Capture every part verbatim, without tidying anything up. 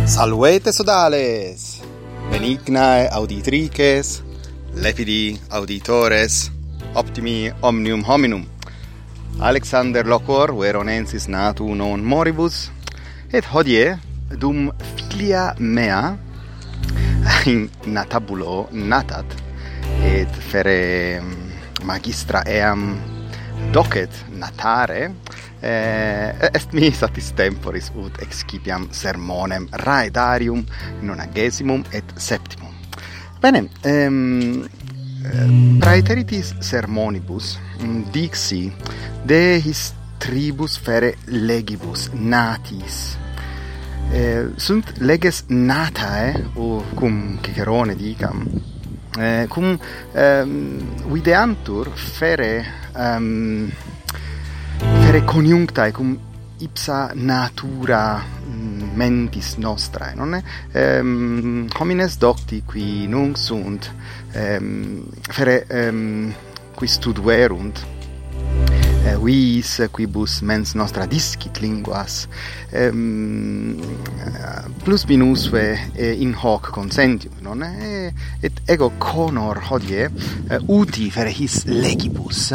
Salvete sodales, benignae auditrices, lepidi auditores, optimi omnium hominum. Alexander locor veronensis natu non moribus, et hodie dum filia mea in natabulo natat, et fere magistra eam docet natare, eh, est mi satis temporis ut excipiam sermonem raedarium nonagesimum et septimum. Bene, ehm, praeteritis sermonibus dixi de his tribus fere legibus natis. Eh, sunt leges natae, o cum Cicerone dicam, eh, cum um, videantur fere um, fere coniunctae cum ipsa natura mentis nostrae, non è? Um, homines docti qui nunc sunt um, fere um, qui studuerunt Uh, vis quibus mens nostra discit linguas um, plus minusve eh, in hoc consentium, non è? Et ego conor hodie uh, uti fere his legibus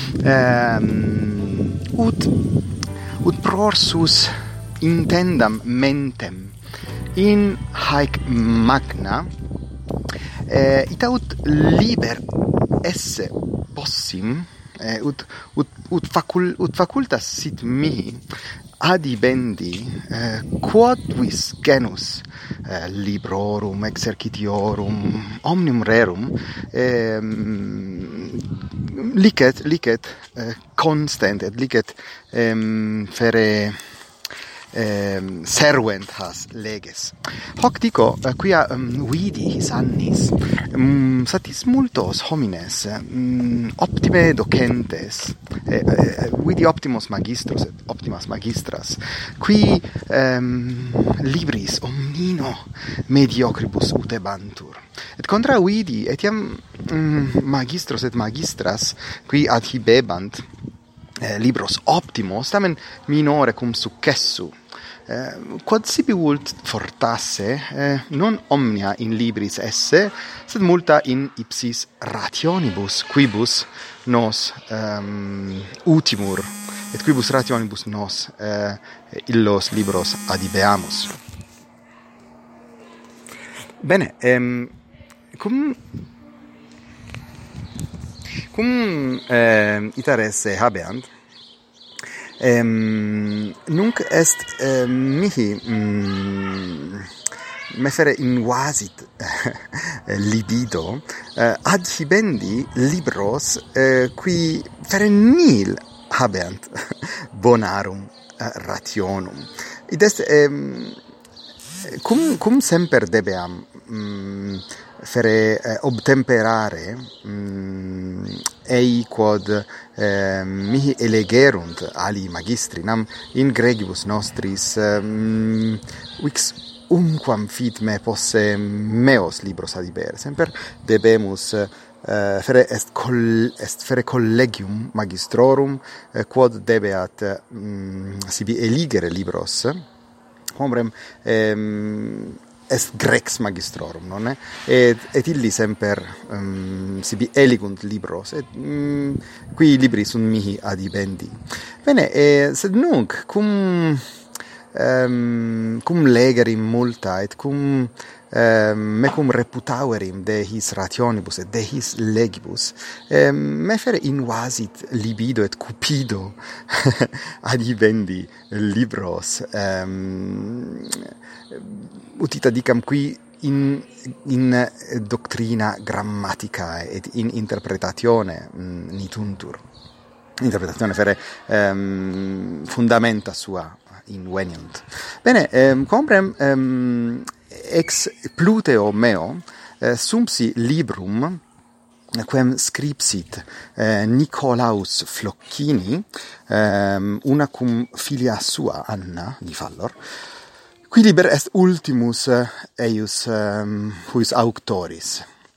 um, ut ut prorsus intendam mentem in haec magna eh, ita ut liber esse possim Eh, ut ut ut facul ut facultas sit mihi adibendi eh, quod vis genus eh, librorum exercitiorum omnium rerum eh, licet licet eh, constent et licet eh, fere Um, servent has leges. Hoc dico, uh, quia um, vidi his annis, um, satis multos homines, um, optime docentes, eh, eh, vidi optimos magistros et optimas magistras, qui um, libris omnino mediocribus utebantur. Et contra vidi, etiam um, magistros et magistras, qui adhibebant eh, libros optimos, tamen minore cum successu, Eh, quod sibi vult fortasse, eh, non omnia in libris esse, sed multa in ipsis rationibus, quibus nos um, utimur, et quibus rationibus nos eh, illos libros adibeamus. Bene, ehm, cum cum eh, itares habeant, Um, nunc est uh, mihi mm, me fere invasit libido uh, adhibendi libros uh, qui fere nil habeant bonarum uh, rationum. Id est um, cum cum semper debeam um, fere eh, obtemperare um, ei quod eh, mihi elegerunt ali magistri nam in gregibus nostris um, vix umquam fit me posse meos libros adibere semper debemus uh, fere est col est fere collegium magistrorum uh, quod debeat um, sibi eligere libros hombrem um, est grex magistrorum, non è? Et, et illi semper um, sibi eligunt libros, et um, qui libri sunt mihi adibendi. Bene, e, sed nunc, cum, um, cum legerim multa, et cum um, me cum reputauerim de his rationibus et de his legibus, um, me fere invasit libido et cupido adibendi libros, um, utita dicam qui in in doctrina grammatica et in interpretatione mm, nituntur. Interpretazione fere um, fundamenta sua inveniunt. Bene, um, comprem um, ex Pluteo meo uh, sumpsi librum quem scripsit eh, Nicolaus Flocchini um, una cum filia sua Anna di Fallor. Qui liber est ultimus eius um, huius auctoris.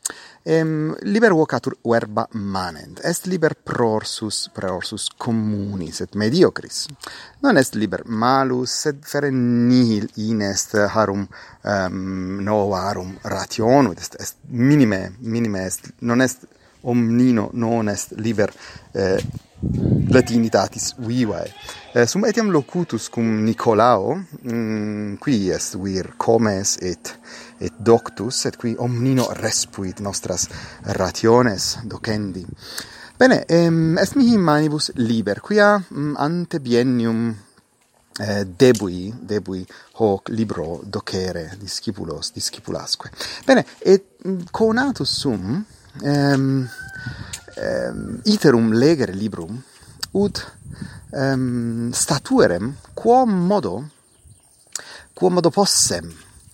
Ehm, liber vocatur verba manent, est liber prorsus, prorsus communis et mediocris. Non est liber malus, sed fere nihil inest harum um, novarum rationum, est, est minime, minime est, non est omnino, non est liber eh, latinitatis vivae. Eh, sum etiam locutus cum Nicolao, mm, qui est vir comes et et doctus, et qui omnino respuit nostras rationes docendi. Bene, ehm, est mihi manibus liber, quia mm, ante biennium eh, debui, debui hoc libro docere discipulos, discipulasque. Bene, et mm, conatus sum, ehm, ehm, iterum legere librum, ut um, statuerem quom modo quom modo possem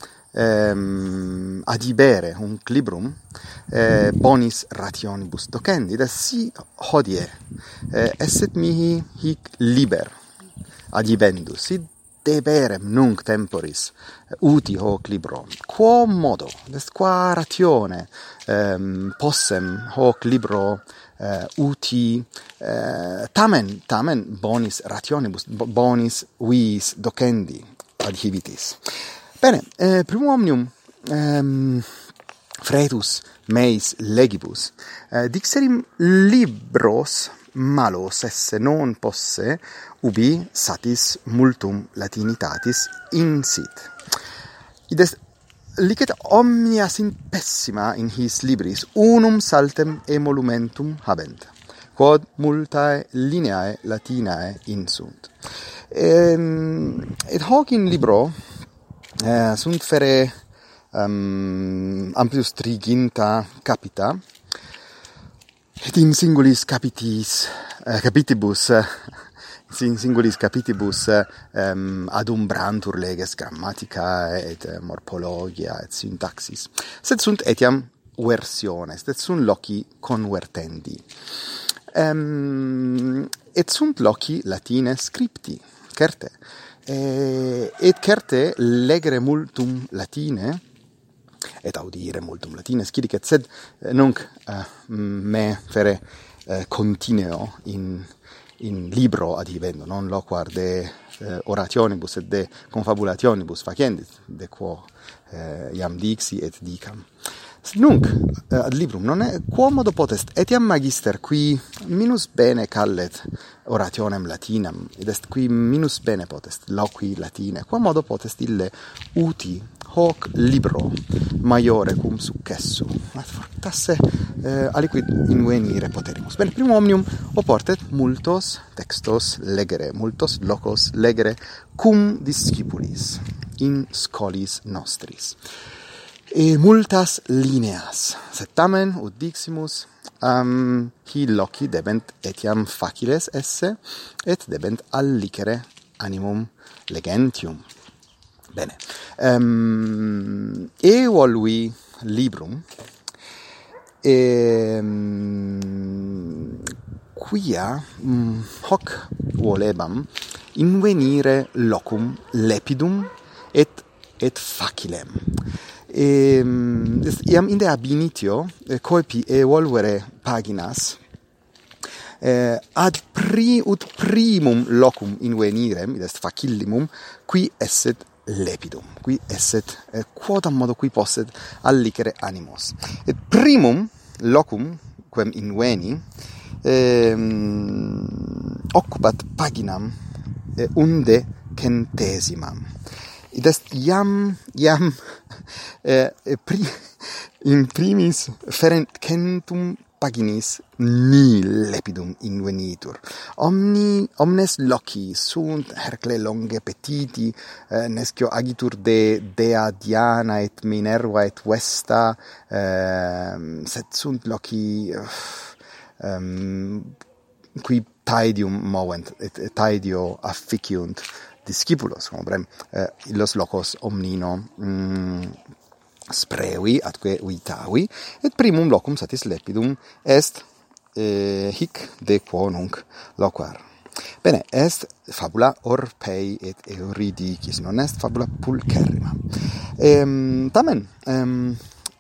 um, adibere hunc librum eh, bonis rationibus docendi, da si hodie eh, esset mihi hic liber adibendus, si deberem nunc temporis uti hoc libro, quom modo, est qua ratione um, possem hoc libro Uh, uti uh, tamen tamen bonis rationibus bonis vis docendi adhibitis. Bene, eh, primum omnium um, fretus meis legibus uh, dixerim libros malos esse non posse ubi satis multum latinitatis insit. Id est licet omnia sin pessima in his libris unum saltem emolumentum habent, quod multae lineae latinae insunt. Ehm, et hoc in libro eh, sunt fere um, amplius triginta capita, et in singulis capitis, eh, capitibus, in singulis capitibus um, adumbrantur leges grammatica et morphologia et syntaxis, sed sunt etiam versiones, et sunt loci convertendi. Um, et sunt loci latine scripti, certe, e, et certe legere multum latine, et audire multum latine scidicet, sed nunc uh, me fere uh, contineo in in libro adhibendo, non loquar de eh, orationibus et de confabulationibus facendit, de quo eh, iam dixi et dicam. Nunc eh, ad librum non è quomodo potest etiam magister qui minus bene callet orationem latinam, ed est qui minus bene potest loqui latine, quomodo potest ille uti hoc libro maiore cum successu, tasse eh, aliquid invenire poterimus. Bene, primum omnium oportet multos textos legere, multos locos legere cum discipulis in scholis nostris. E multas lineas, sed tamen ut diximus um, hi loci debent etiam faciles esse, et debent allicere animum legentium. Bene, um, evolui librum, e, um, quia um, hoc volebam invenire locum lepidum et, et facilem. E, iam inde ab initio eh, coepi evolvere paginas eh, ad pri ut primum locum invenirem, id est facillimum, qui esset lepidum, qui esset eh, quodam modo qui posset allicere animos. Et primum locum quem inveni eh, occupat paginam eh, unde centesimam. Id est iam iam eh, pri, in primis ferent centum paginis nil lepidum invenitur. Omni omnes loci sunt Hercle longe petiti, eh, nescio agitur de dea Diana et Minerva et Vesta, eh, sed sunt loci uh, um, qui taedium movent et, et taedio afficiunt discipulos, como brem, eh, illos locos omnino mm, sprevi atque vitavi, et primum locum satis lepidum est eh, hic de quo nunc loquar. Bene, est fabula Orpei et Euridicis, non est fabula pulcherrima. Ehm, tamen, ehm,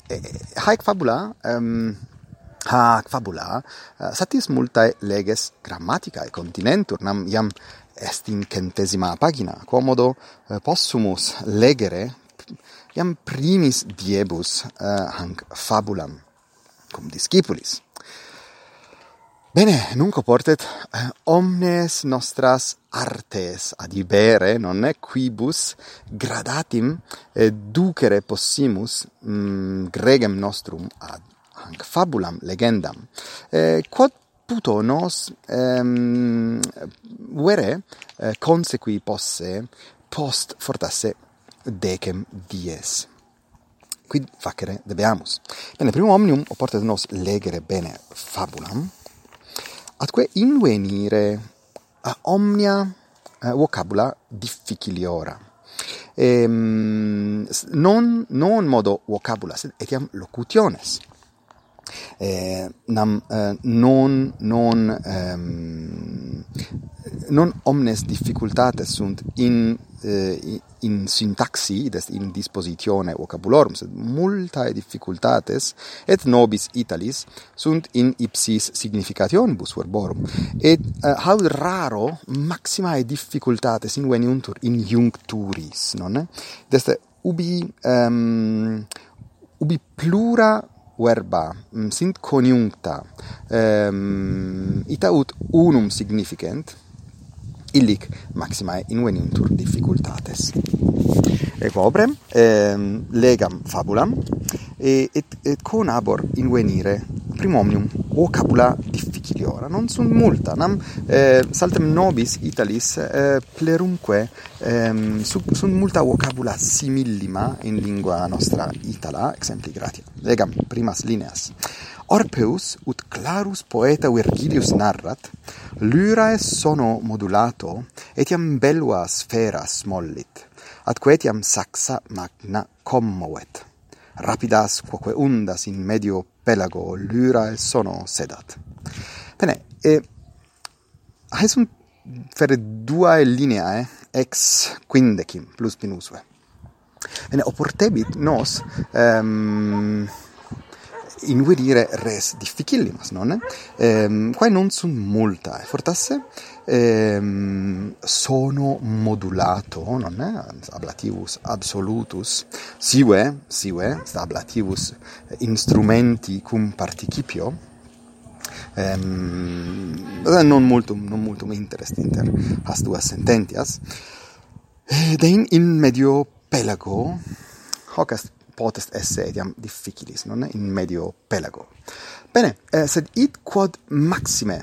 haec fabula um, hac fabula uh, satis multae leges grammaticae continentur, nam iam est in centesima pagina, quomodo uh, possumus legere iam primis diebus uh, hanc fabulam cum discipulis. Bene, nunc oportet eh, omnes nostras artes adibere, nonne, quibus gradatim eh, ducere possimus mm, gregem nostrum ad hanc fabulam legendam. Eh, quod puto nos ehm, vere eh, consequi posse post fortasse decem dies. Quid facere debeamus? Bene, primum omnium oportet nos legere bene fabulam, atque invenire uh, omnia uh, vocabula difficiliora. Ehm, non, non modo vocabula, sed etiam locutiones. Eh, nam eh, non non ehm, non omnes difficultates sunt in eh, in syntaxi, des in dispositione vocabulorum, sed multae difficultates et nobis italis sunt in ipsis significationibus verborum, et uh, haud raro maximae difficultates inveniuntur in iuncturis, nonne? Deste ubi um, ubi plura verba um, sint coniuncta um, ita ut unum significant, illic maximae inveniuntur difficultates. Equobrem ehm, legam fabulam et, et, et conabor invenire primomnium vocabula difficiliora. Non sunt multa, nam eh, saltem nobis italis eh, plerumque eh, sunt multa vocabula simillima in lingua nostra itala, exempli gratia. Legam primas lineas. Orpeus ut clarus poeta Virgilius narrat, lyrae sono modulato, etiam bellua sferas mollit, atque etiam saxa magna commovet. Rapidas quoque undas in medio pelago lyrae sono sedat. Bene, e hae sunt fere duae lineae ex quindecim plus minusve. Bene, oportebit nos um, invenire res difficillimas, nonne? Ehm, quae non sunt multae, fortasse ehm, sono modulato, nonne? Ablativus absolutus, sive, sive, ablativus instrumenti cum participio, ehm, non multum, non multum interest inter as duas sententias, ed in, in medio pelago, hoc est potest esse etiam difficilis, non? In medio pelago. Bene, eh, sed id quod maxime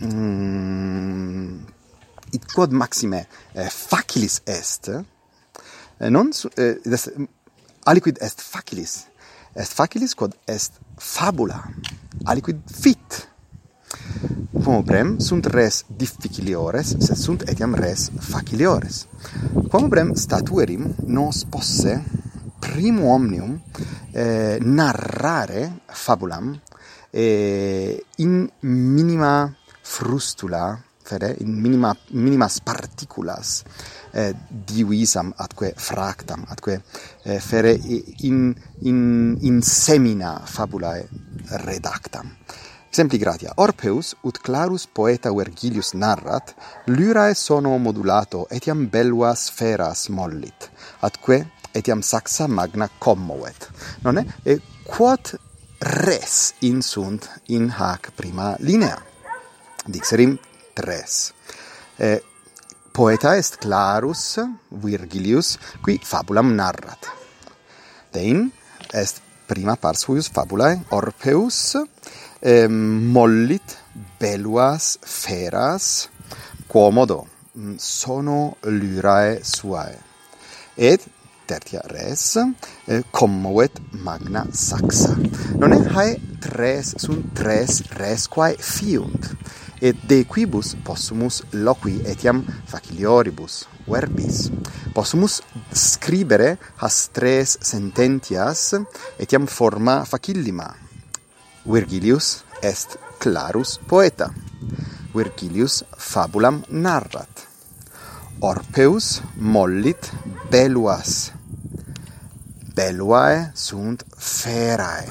mm, id quod maxime eh, facilis est, eh, non eh, des, aliquid est facilis, est facilis quod est fabula, aliquid fit. Quomobrem sunt res difficiliores, sed sunt etiam res faciliores. Quomobrem statuerim nos posse primum omnium eh, narrare fabulam eh, in minima frustula, fere, in minima, minimas particulas eh, divisam atque fractam, atque eh, fere in, in, in semina fabulae redactam. Exempli gratia. Orpeus ut clarus poeta Virgilius narrat, lyrae sono modulato etiam bellua sferas mollit, atque etiam saxa magna commovet. Nonne? E quod res insunt in hac prima linea? Dixerim tres. E, poeta est clarus Virgilius, qui fabulam narrat. Dein est prima pars huius fabulae, Orpeus eh, mollit belluas feras, quomodo sono lyrae suae. Et tertia res eh, commovet magna saxa. Non è hae tres sunt tres res quae fiunt, et de quibus possumus loqui etiam facilioribus verbis. Possumus scribere has tres sententias etiam forma facillima. Virgilius est clarus poeta. Virgilius fabulam narrat. Orpeus mollit belluas belluae sunt ferae.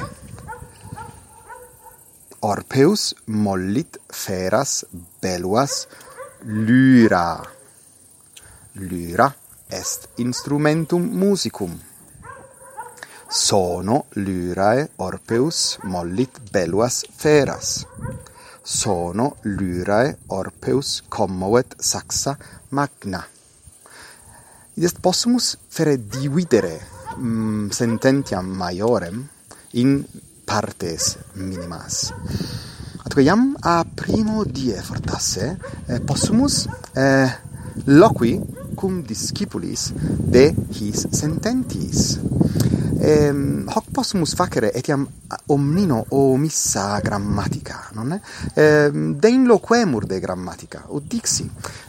Orpeus mollit feras belluas lyra. Lyra est instrumentum musicum. Sono lyrae Orpeus mollit belluas feras. Sono lyrae Orpeus commovet saxa magna. Id est possumus fere dividere mm, sententiam maiorem in partes minimas. Atque iam a primo die fortasse eh, possumus eh, loqui cum discipulis de his sententis. Ehm, hoc possumus facere etiam omnino omissa grammatica, non è? Ehm, dein loquemur de grammatica, ut dixi.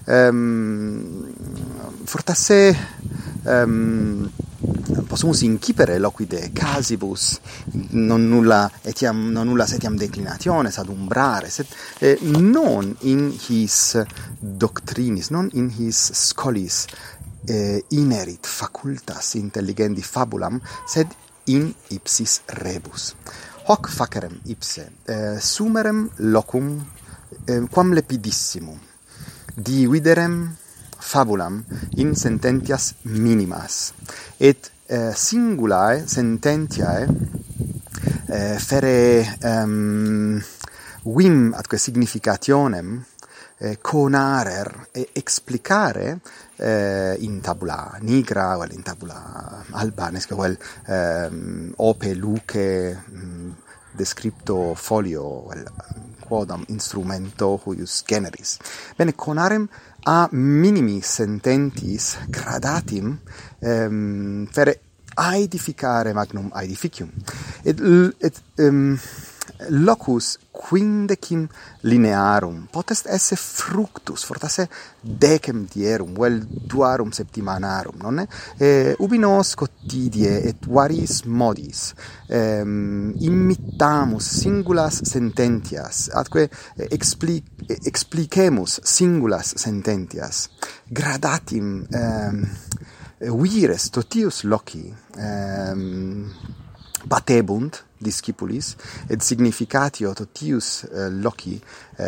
Ehm, fortasse ehm, possumus incipere loquide casibus non nulla etiam non nulla etiam declinationes ad umbrare, sed eh, non in his doctrinis, non in his scholis eh, inerit facultas intelligendi fabulam, sed in ipsis rebus. Hoc facerem ipse eh, sumerem locum eh, quam lepidissimum dividerem fabulam in sententias minimas et eh, singulae sententiae eh, fere um, vim atque significationem eh, conarer e explicare eh, in tabula nigra, vel in tabula alba, nesque vel um, ope luce um, descripto folio, vel quodam instrumento huius generis. Bene, conarem a minimi sententis gradatim um, fere aedificare magnum aedificium. Et, et um, locus quindecim linearum potest esse fructus, fortasse decem dierum, vel duarum septimanarum, nonne? E, ubi nos quotidie et varis modis um, imitamus singulas sententias, atque expli, explicemus singulas sententias, gradatim um, vires totius loci um, patebunt discipulis, et significatio totius uh, loci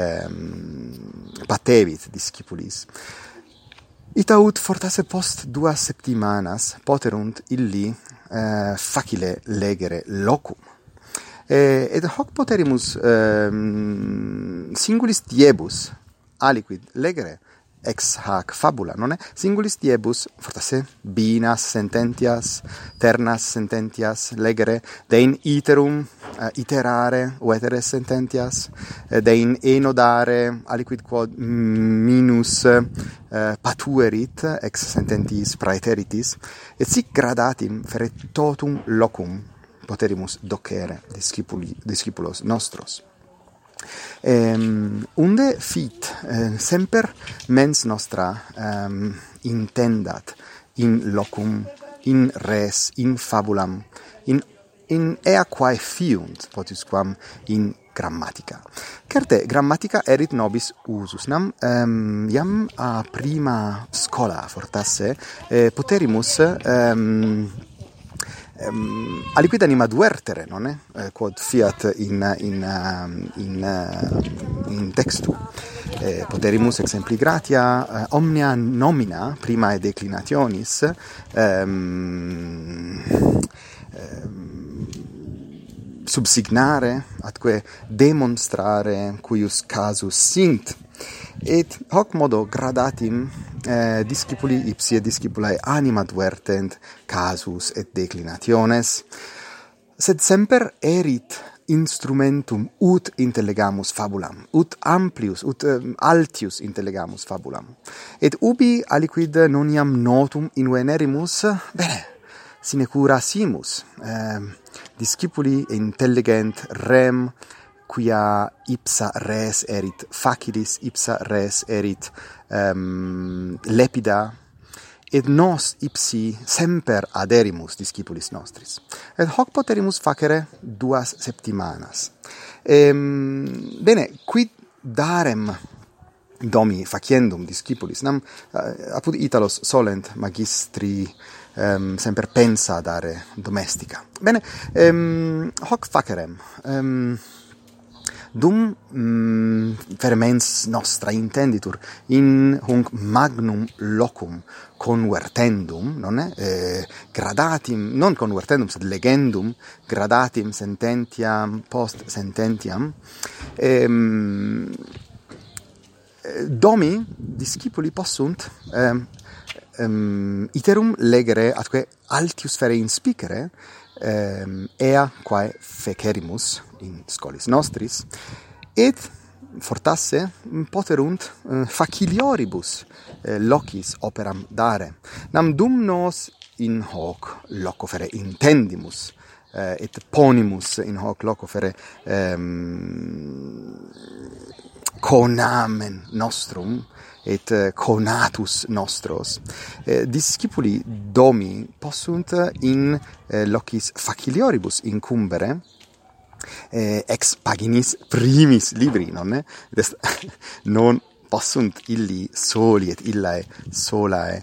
um, patevit discipulis. Ita ut fortasse post duas septimanas poterunt illi uh, facile legere locum. E, et hoc poterimus um, singulis diebus aliquid legere ex hac fabula, non è? Singulis diebus, fortasse, binas sententias, ternas sententias, legere, dein iterum, uh, iterare, vetere sententias, uh, dein enodare, aliquid quod minus uh, patuerit, ex sententis praeteritis, et sic gradatim fere totum locum poterimus docere discipuli, discipulos nostros. Um, unde fit uh, semper mens nostra um, intendat in locum, in res, in fabulam, in, in ea quae fiunt, potusquam in grammatica. Certe grammatica erit nobis usus, nam um, iam a prima scola fortasse eh, poterimus um, Um, aliquid anima duertere, non è? Eh, quod fiat in in uh, in, uh, in textu. Eh, poterimus exempli gratia uh, omnia nomina prima declinationis um, um, subsignare atque demonstrare cuius casus sint. Et hoc modo gradatim eh, discipuli ipsi et discipulae anima duertent casus et declinationes, sed semper erit instrumentum ut intellegamus fabulam, ut amplius, ut um, altius intellegamus fabulam. Et ubi aliquid non iam notum invenerimus, bene, sinecura simus, eh, discipuli intelligent rem, quia ipsa res erit facilis, ipsa res erit um, lepida, et nos ipsi semper aderimus discipulis nostris. Et hoc poterimus facere duas septimanas. Ehm, bene, quid darem domi faciendum discipulis? Nam uh, apud Italos solent magistri um, semper pensa dare domestica. Bene, um, hoc facerem. Um, Dum mm, fermens nostra intenditur in hunc magnum locum convertendum, non è? Eh, gradatim, non convertendum, sed legendum, gradatim sententiam post sententiam, ehm, domi discipuli possunt ehm, ehm, iterum legere atque altius fere inspicere ehm, ea quae fecerimus in scholis nostris, et fortasse poterunt uh, facilioribus uh, locis operam dare. Nam dum nos in hoc loco fere intendimus, uh, et ponimus in hoc loco fere um, conamen nostrum, et uh, conatus nostros, eh, discipuli domi possunt in eh, locis facilioribus incumbere eh, ex paginis primis libri, non è? Non possunt illi soli et illae solae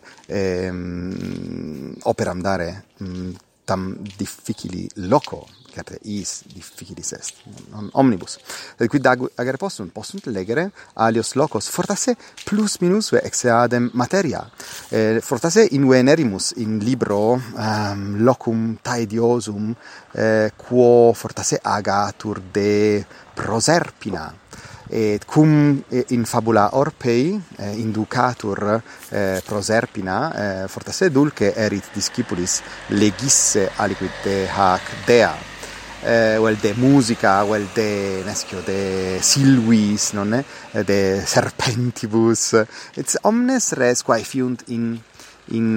ehm, operam dare mm, tam difficili loco, certe is difficilis est, non omnibus. Et quid agere possunt, possunt legere alios locos, fortasse plus minusve ex eadem materia, eh, fortasse in venerimus in libro um, locum taediosum, eh, quo fortasse agatur de Proserpina, et cum in fabula Orpei eh, inducatur eh, Proserpina, eh, fortasse dulce erit discipulis legisse aliquid de hac dea, eh, vel de musica, vel de nescio de silvis, non è? De serpentibus, et omnes res quae fiunt in in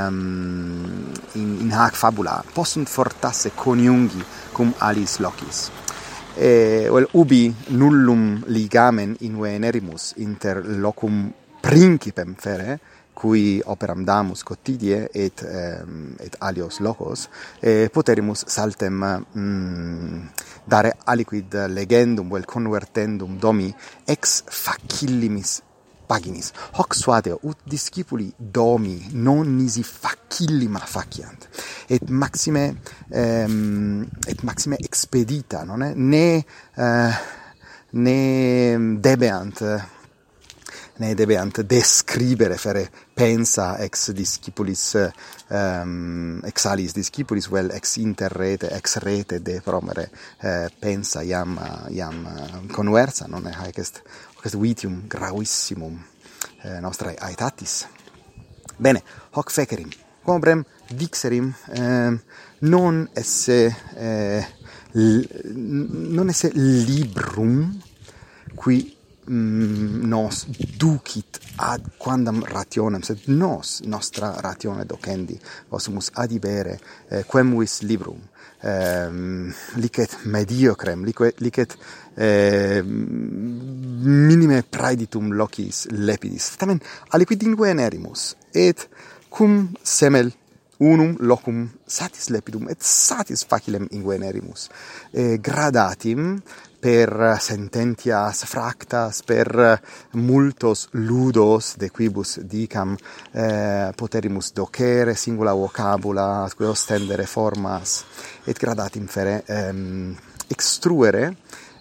um, in, in hac fabula possunt fortasse coniungi cum alis locis. E vel ubi nullum ligamen in venerimus inter locum principem fere, cui operam damus quotidie et um, et alios locos, e poterimus saltem mm, dare aliquid legendum vel convertendum domi ex facillimis paginis. Hoc suadeo ut discipuli domi non nisi facillima faciant, et maxime um, et maxime expedita, non è? Ne uh, ne debeant ne debeant describere fere pensa ex discipulis um, ex alis discipulis vel ex inter rete ex rete de promere eh, pensa iam iam conversa, non è? Haec est quest vitium gravissimum eh, nostrae aetatis. Bene, hoc fecerim, quobrem dixerim eh, non esse eh, l- non esse librum qui mm, nos ducit ad quandam rationem, sed nos nostra ratione docendi possumus adibere eh, quemvis librum Um, licet mediocrem, licet, licet eh, minime praeditum locis lepidis, tamen aliquid in venerimus, et cum semel unum locum satis lepidum et satis facilem in venerimus, eh, gradatim per sententias fractas, per multos ludos de quibus dicam eh, poterimus docere singula vocabula, atque ostendere formas, et gradatim fere ehm, extruere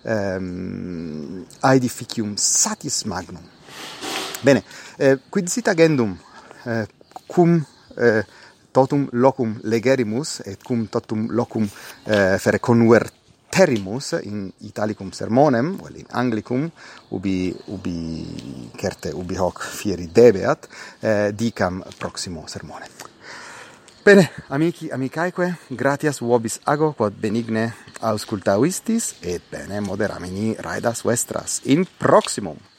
ehm, aedificium satis magnum. Bene, eh, quid sit agendum eh, cum eh, totum locum legerimus et cum totum locum eh, fere convert terimus in italicum sermonem, vel in anglicum, ubi, ubi certe ubi hoc fieri debeat, eh, dicam proximo sermone. Bene, amici, amicaeque, gratias vobis ago, quod benigne auscultavistis, et bene moderamini raedas vestras in proximum.